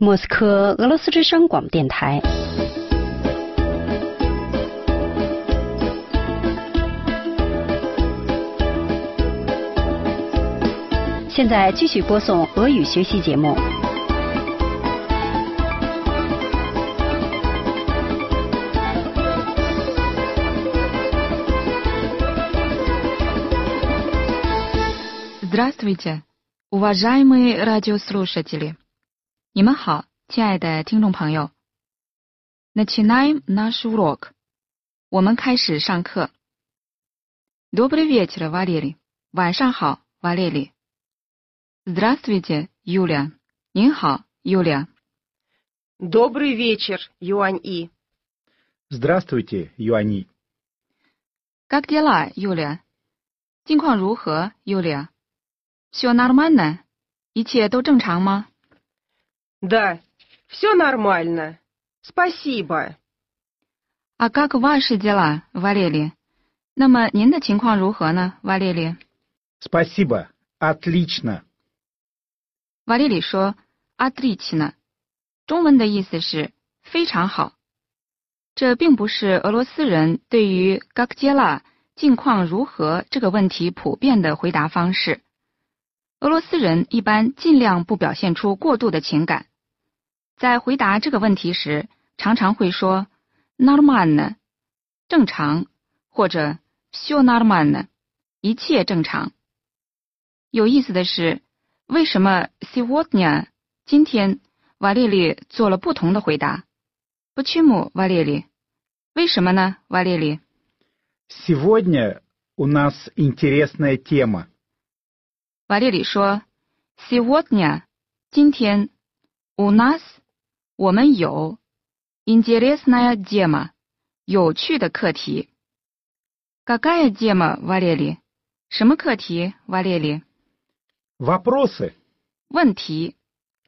莫斯科俄罗斯之声广播电台。现在继续播送俄语学习节目。 Здравствуйте, уважаемые радиослушатели！ 你们好，亲爱的听众朋友。Начинаем наш урок。 我们开始上课。Добрый вечер, Валерий。 晚上好，瓦列里。Здравствуйте, Юля。 您好， Юля。 Добрый вечер, Юань-И。 Здравствуйте, Юань-И。 Как дела, Юля？ 近况如何， Юля？ Всё нормально？ 一切都正常吗？ Да, все нормально. Спасибо. А как ваши дела, Валерий？ 那么您的情况如何呢，瓦列里？ Спасибо, отлично。 瓦列里说 отлично， 中文的意思是非常好。这并不是俄罗斯人对于 как дела 近况如何这个问题普遍的回答方式。俄罗斯人一般尽量不表现出过度的情感，在回答这个问题时，常常会说 нормально 正常，或者 всё нормально 一切正常。有意思的是，为什么 сегодня 今天瓦列里做了不同的回答？ Почему, Валерий？ 为什么呢，瓦列里？ Сегодня у нас интересная тема。 瓦列里说 сегодня 今天 у нас 我们有 интересная тема 有趣的课题。 Какая тема, Валерий？ 什么课题，瓦列里？ Вопросы。 问题。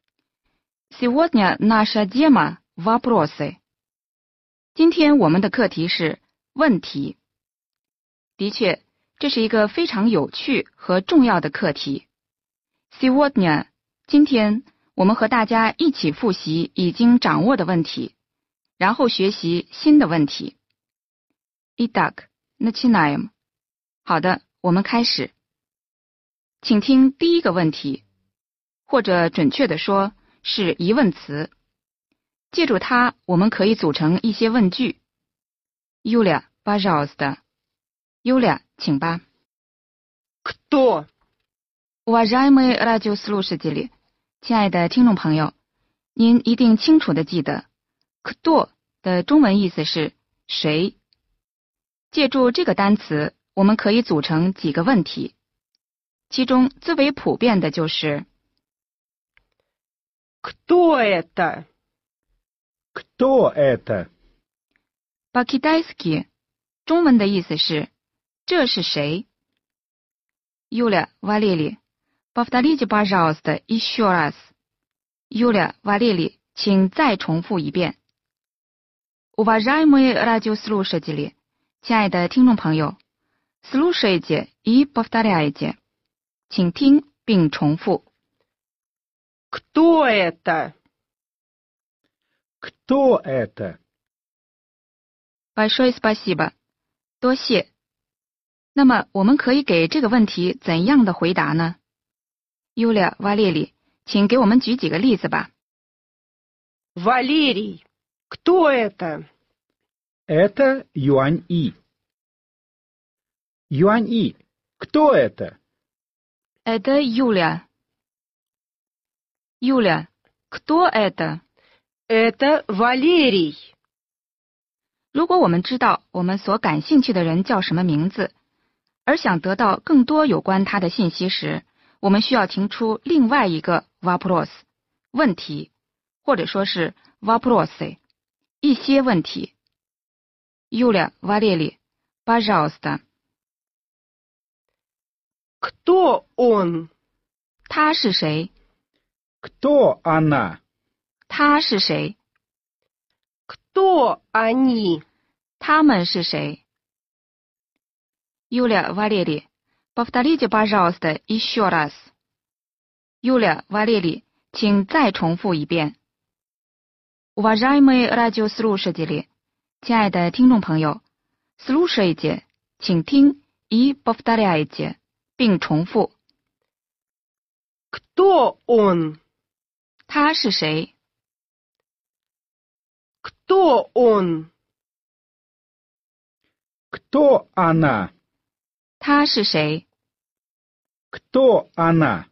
Сегодня наша тема вопросы。 今天我们的课题是问题。的确，这是一个非常有趣和重要的课题。 Сегодня 今天我们和大家一起复习已经掌握的问题，然后学习新的问题。 Итак, начинаем。 好的，我们开始。请听第一个问题，或者准确地说是疑问词。借助它，我们可以组成一些问句。 Юля, пожалуйста。 Юля， 请吧。 Кто? Уважаемые радиослушатели， 亲爱的听众朋友，您一定清楚地记得 кто 的中文意思是谁。借助这个单词，我们可以组成几个问题，其中最为普遍的就是 Кто это? Кто это？ по-китайски 中文的意思是这是谁。 Юля, Валерий, повторите, пожалуйста, еще раз. Юля, Валерий, 请再重复一遍。 Уважаемые радиослушатели， 亲爱的听众朋友， слушайте и повторяйте， 请听并重复。 Кто это? Кто это？ Большое спасибо， 多谢。那么我们可以给这个问题怎样的回答呢？ Юля, Валерий， 请给我们举几个例子吧。 Валерий. Кто это? Это Юань-И。 Юань-И, кто это？ Это Юля. Юля, кто это? Это Валерий. 如果我们知道我们所感兴趣的人叫什么名字，而想得到更多有关他的信息时，我们需要提出另外一个 вопрос 问题，或者说是 вопросы 一些问题。 Юля, Валерий, пожалуйста。 Кто он? 他是谁？ Кто она？ 他是谁？ Кто они? 他们是谁？ Юля, Валерий, повторите, пожалуйста, еще раз. Юля, Валерий, 请再重复一遍。 Уважаемые радиослушатели，亲爱的听众朋友 ，слушайте，请听 и повторяйте，并重复。 Кто он? 他是谁？ Кто он? Кто она? 他是谁？ Кто она?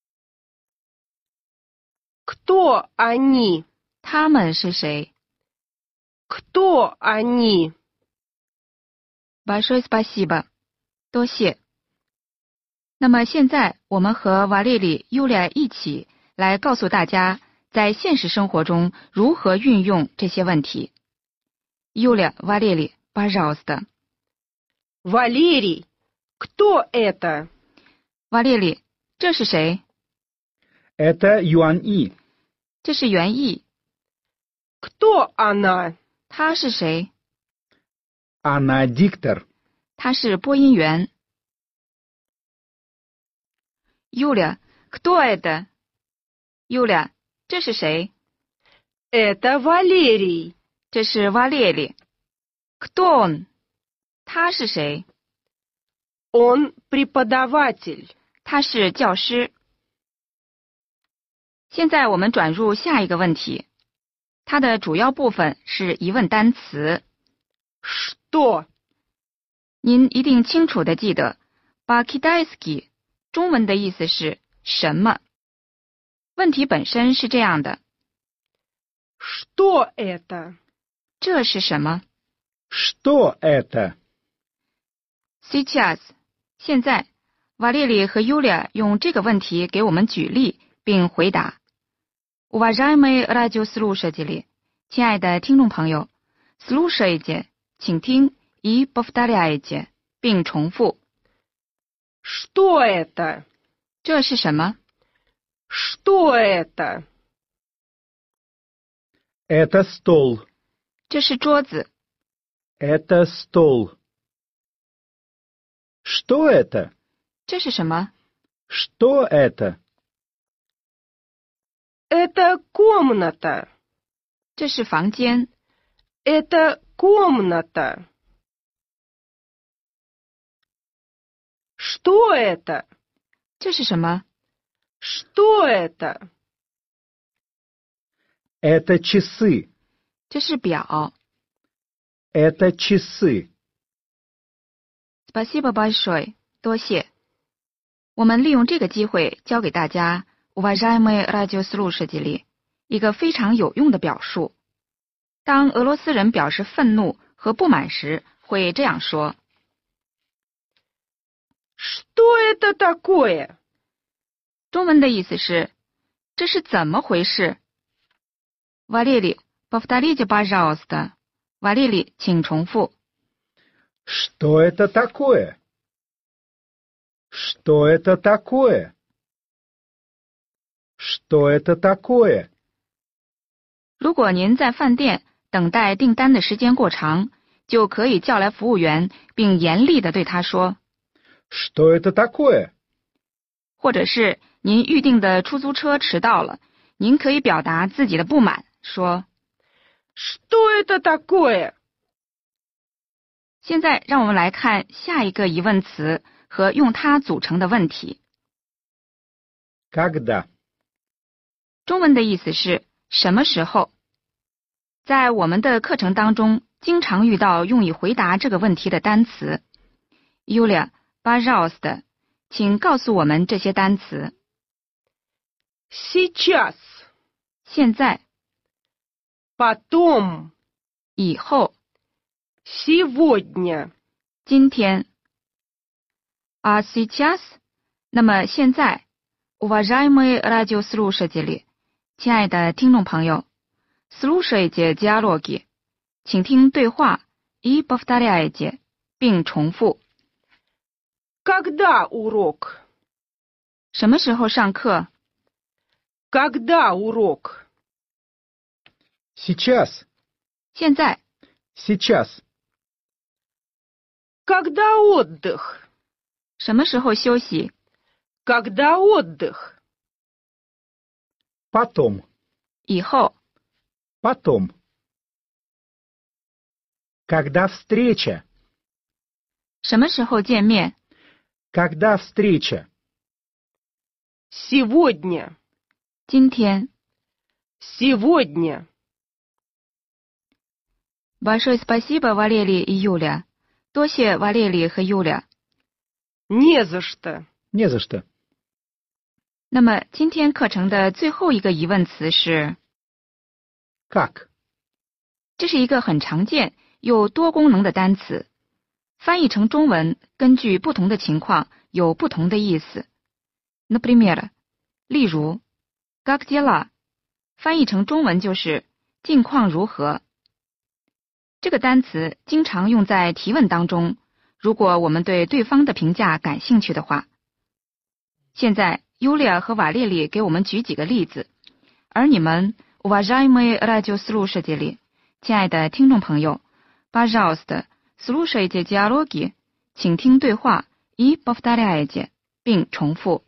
Кто они? 他们是谁？ Кто они? Большое спасибо，多谢。那么现在我们和瓦列里、尤利亚一起来告诉大家，在现实生活中如何运用这些问题。尤利亚、瓦列里 пожалуйста。 Валерий. Кто это? 瓦列里，这是谁？ Это Юань-И. 这是袁毅。 Кто она? 他是谁？ Она диктор. 他是播音员。Юля, кто это? Юля, 这是谁？ Это Валерий. 这是瓦列里。Кто он? 他是谁？ Он преподаватель. 他是教师。现在我们转入下一个问题，它的主要部分是疑问单词。 Что? 您一定清楚的记得 по-китайски 中文的意思是什么？问题本身是这样的： Что это? 这是什么？ Что это? Сейчас 现在，瓦列里和尤利亚用这个问题给我们举例并回答。Уважаемые радиослушатели，亲爱的听众朋友 ，слушайте，请听 и повторяйте，并重复。 Что это? 这是什么？ Что это? Это стол. 这是桌子。 Это стол. Что это? 这是什么？ Что это? Это комната. 这是房间。 Это комната. Что это? 这是什么？ Что это? Это часы. 这是表。 Это часы. Спасибо большое，多谢。我们利用这个机会教给大家 Уважаемые радиослушатели 一个非常有用的表述。当俄罗斯人表示愤怒和不满时，会这样说。 Что это такое? 中文的意思是这是怎么回事？ Валерий, повторите, пожалуйста。 瓦列里，请重复。 Что это такое? Что это такое? Что это такое? 如果您在饭店等待订单的时间过长，就可以叫来服务员，并严厉地对他说。 Что это такое? 或者是您预定的出租车迟到了，您可以表达自己的不满，说。 Что это такое? 现在让我们来看下一个疑问词和用它组成的问题。 Когда? 中文的意思是什么时候？在我们的课程当中，经常遇到用以回答这个问题的单词。Yulia, пожалуйста，请告诉我们这些单词。 Сейчас. 现在、 Потом. 以后、 Сегодня. 今天。А сейчас， 那么现在 ，Уважаемые радиослушатели， 亲爱的听众朋友 ，слушайте диалоги， 请听对话 и повторяйте， 并重复。 Когда урок? 什么时候上课？ Когда урок? Сейчас. 现在。 Сейчас. Когда отдых? 什么时候休息？ Когда отдых? Потом. 以后。 Потом. Когда встреча? 什么时候见面？ Когда встреча? Сегодня. 今天。 Сегодня. Большое спасибо, Валерий и Юля. 多谢瓦列里和 Юля。 Не за что. Не за что. 那么今天课程的最后一个疑问词是 Как? 这是一个很常见又多功能的单词，翻译成中文根据不同的情况有不同的意思。Например， 例如 Как дела？ 翻译成中文就是近况如何。这个单词经常用在提问当中，如果我们对对方的评价感兴趣的话。现在 Yulia 和瓦列里给我们举几个例子，而你们 уважаемые радиослушатели， 亲爱的听众朋友 пожалуйста слушайте диалоги， 请听对话 и повторяйте， 并重复。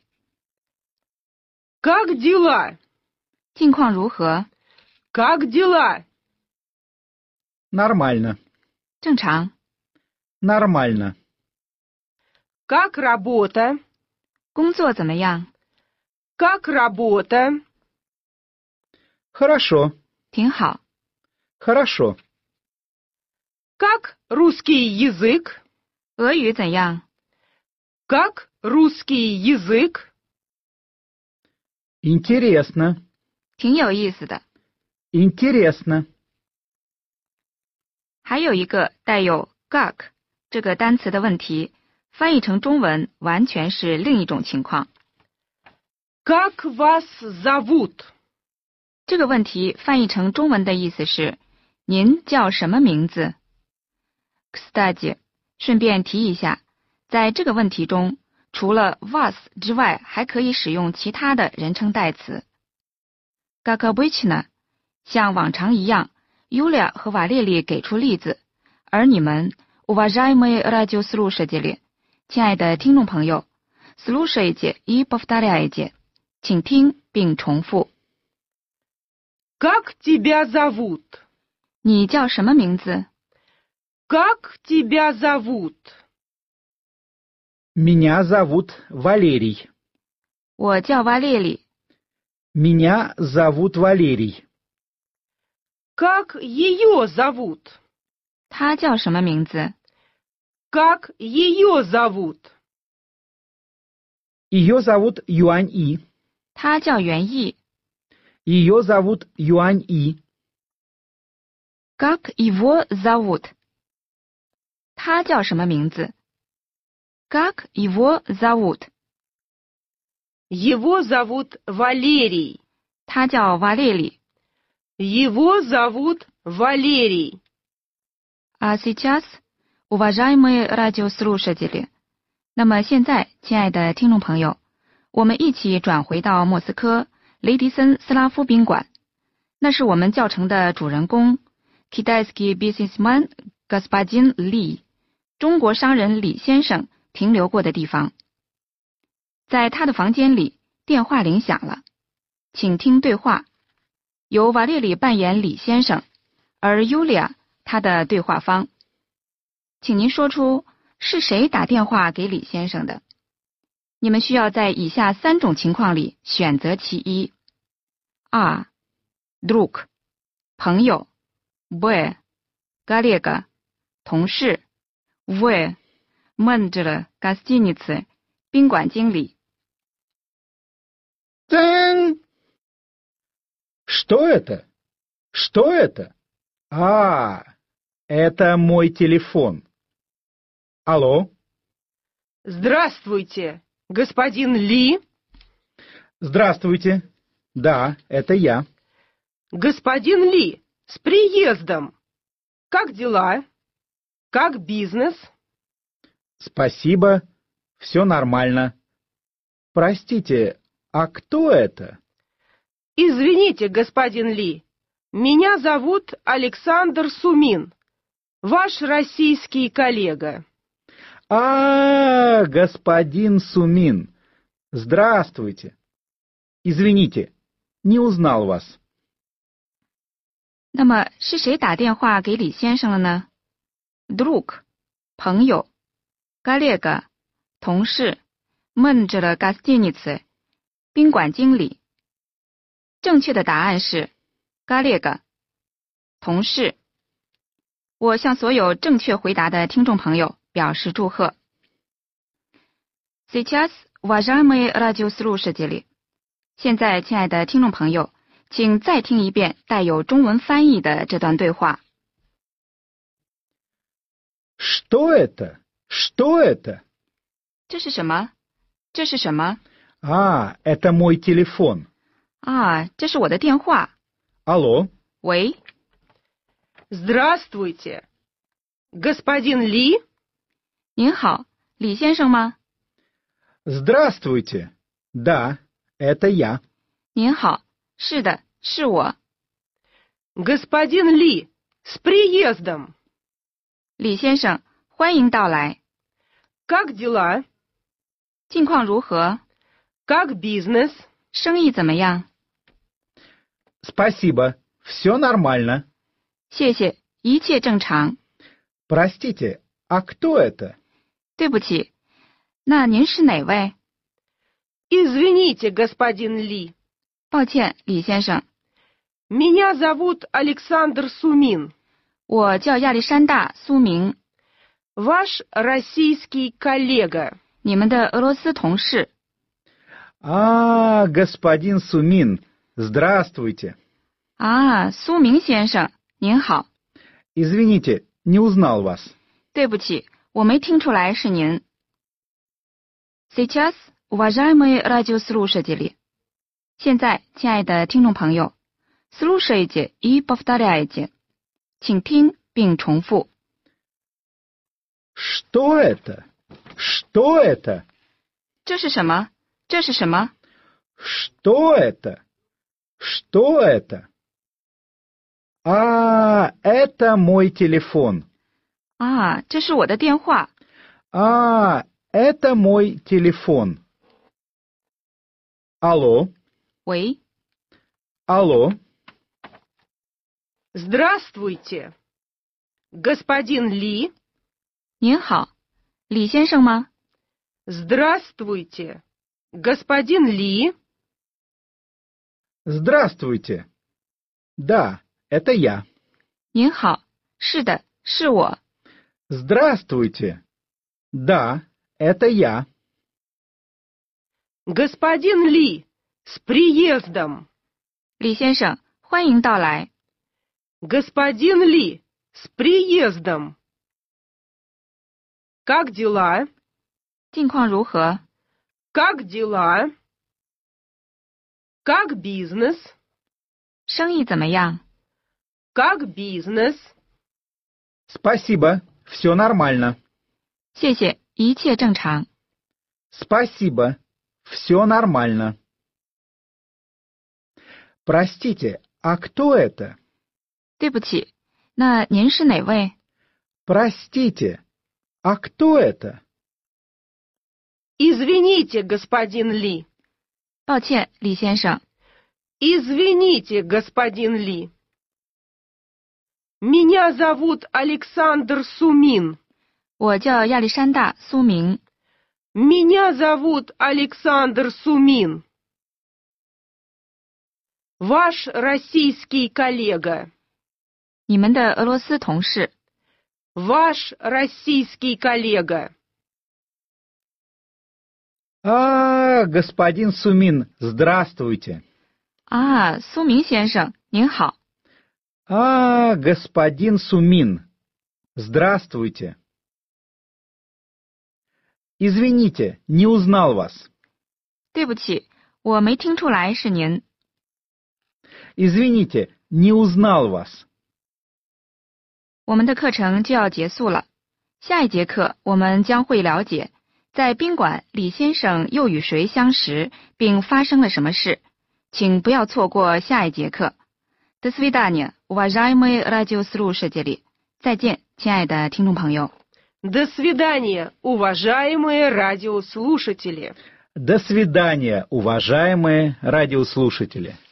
Как дела? 近况如何？ Как дела? Нормально. 正常。 Нормально. Как работа? 工作怎么样？ Как работа? Хорошо. 挺好。 Хорошо. Как русский язык? 俄语怎样？ Как русский язык? Интересно. 挺有意思的。 Интересно. 还有一个带有 как 这个单词的问题，翻译成中文完全是另一种情况。 Как вас зовут? 这个问题翻译成中文的意思是您叫什么名字？ Кстати， 顺便提一下，在这个问题中，除了 вас 之外，还可以使用其他的人称代词。Как обычно， 像往常一样 Yulia 和瓦列里给出例子，而你们 уважаемые радиослушатели， 亲爱的听众朋友 слушайте и повторяйте， 请听并重复。 Как тебя зовут? 你叫什么名字？ Как тебя зовут? Меня зовут Валерий. 我叫瓦列里。 Меня зовут Валерий. Как ее зовут? 他叫什么名字？ Как ее зовут? Ее зовут Юань И. 他叫袁毅。 Ее зовут Юань И. Как его зовут？ 他叫什么名字？ Как его зовут？ Его зовут Валерий. 他叫瓦列里。 Его зовут Валерий. А сейчас, уважаемые радиослушатели， 那么现在，亲爱的听众朋友，我们一起转回到莫斯科雷迪森斯拉夫宾馆，那是我们教程的主人公 Китайский бизнесмен господин Ли， 中国商人李先生停留过的地方。在他的房间里，电话铃响了，请听对话。由瓦列里扮演李先生，而 Yulia 他的对话方。请您说出是谁打电话给李先生的。你们需要在以下3种情况里选择其一。A. Друг 朋友 B. Коллега 同事 В. Менеджер гостиницы 宾馆经理。 Тэн! Что это? Что это? А, это мой телефон. Алло? Здравствуйте, господин Ли. Здравствуйте. Да, это я. Господин Ли, с приездом. Как дела? Как бизнес? Спасибо, все нормально. Простите, а кто это? Извините, господин Ли, меня зовут Александр Сумин, ваш российский коллега. А, господин Сумин. Здравствуйте. Извините, не узнал вас. 那么是谁打电话给李先生了呢 ？Друг 朋友 ，коллега 同事 ，менеджер гостиницы 宾馆经理。正确的答案是 коллега 同事。我向所有正确回答的听众朋友表示祝贺。Сейчас, уважаемые радиослушатели， 现在，亲爱的听众朋友，请再听一遍带有中文翻译的这段对话。 Что это? Что это? 这是什么？这是什么？ Это мой телефон. 啊，这是我的电话。 Алло? 喂， Здравствуйте. Господин Ли? 您好，李先生吗？ Здравствуйте. Да, это я. 您好，是的，是我。 Господин Ли, с приездом. 李先生，欢迎到来。 Как дела? 近况如何？ Как бизнес? 生意怎么样？ Спасибо. Все нормально. 谢谢，一切正常。 Простите, а кто это? 对不起，那您是哪位？ Извините, господин Ли. 抱歉，李先生， Меня зовут Александр Сумин. 我叫亚历山大·苏明， Ваш российский коллега. 你们的俄罗斯同事。 Господин Сумин, здравствуйте. 啊，苏明先生，您好。 Извините, не узнал вас. 对不起，我没听出来是您。Сейчас, уважаемые радиослушатели， 现在，亲爱的听众朋友 ，слушайте и повторяйте， 请听并重复。 Что это? Что это? 这是什么？这是什么？ Что это? Что это? Это мой телефон. 啊，这是我的电话。 Это мой телефон. Алло? 喂， Алло? Здравствуйте. Господин Ли? 您好，李先生吗？ Здравствуйте. Господин Ли? Здравствуйте. Да, это я. 您好，是的，是我。 Здравствуйте. Да, это я. Господин Ли, с приездом. 李先生，欢迎到来。 Господин Ли, с приездом. Как дела? 近况如何？ Как дела? Как бизнес? 生意怎么样？ Как бизнес? Спасибо, все нормально. 谢谢，一切正常。 Спасибо, все нормально. Простите, а кто это? 对不起，那您是哪位？ Простите, а кто это? Извините, господин Ли. 抱歉，李先生。 Извините, господин Ли. Меня зовут Александр Сумин. 我叫亚历山大·苏明。 Меня зовут Александр Сумин. Ваш российский коллега. 你们的俄罗斯同事。 Ваш российский коллега. Господин Сумин, здравствуйте. 啊，苏明先生，您好。 Господин Сумин, здравствуйте. Извините, не узнал вас. 对不起，我没听出来是您。 Извините, не узнал вас. 我们的课程就要结束了，下一节课我们将会了解，在宾馆李先生又与谁相识，并发生了什么事。请不要错过下一节课。До свидания, уважаемые радиослушатели。再见，亲爱的听众朋友。 До свидания, уважаемые радиослушатели. До свидания, уважаемые радиослушатели.